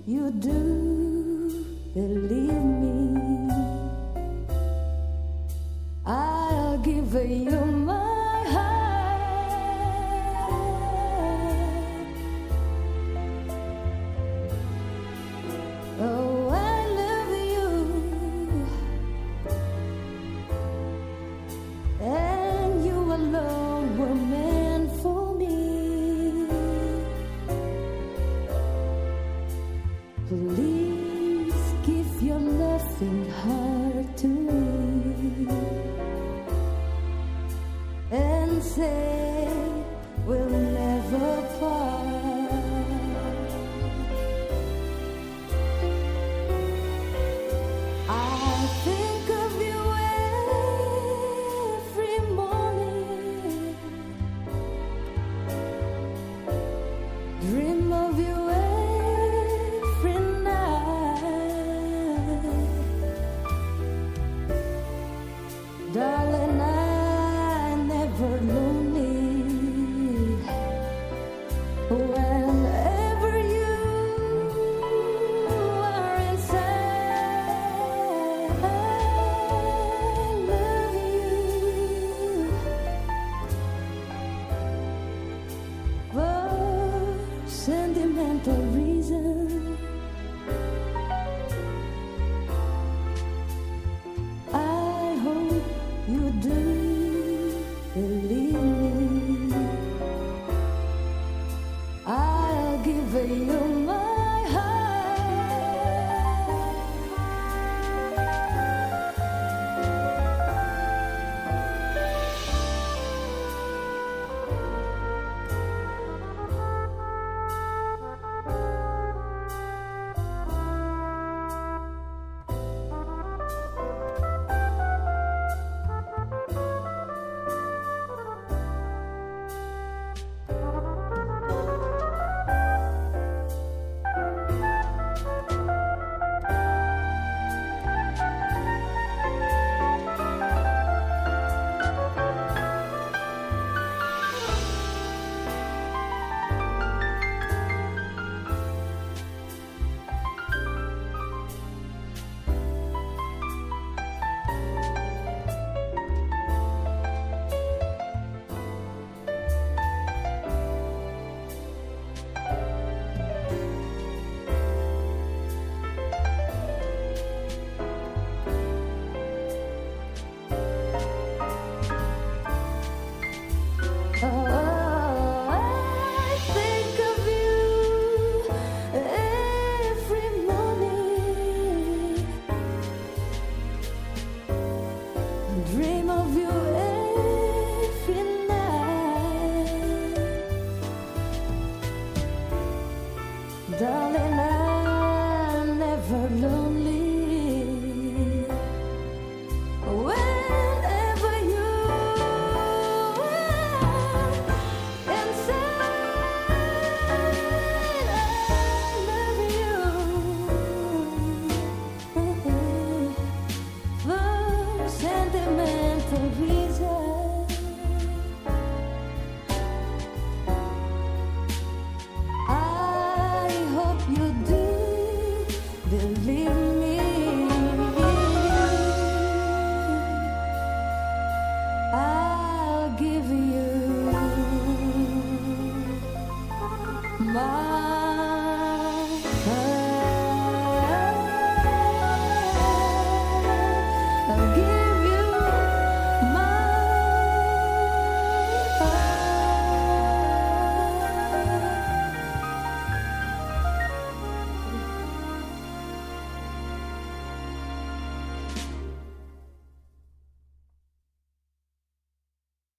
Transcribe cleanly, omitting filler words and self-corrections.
you do believe me, I'll give you my heart. Oh, I love you, and you alone were meant for me. Please give your loving heart to me and say we'll never part. I think of you every morning, dream of you every night, darling. I'm never lonely whenever you are inside. I love you for sentimental reasons. I hope you do believe me, I'll give you my heart. Dream of you every night, darling.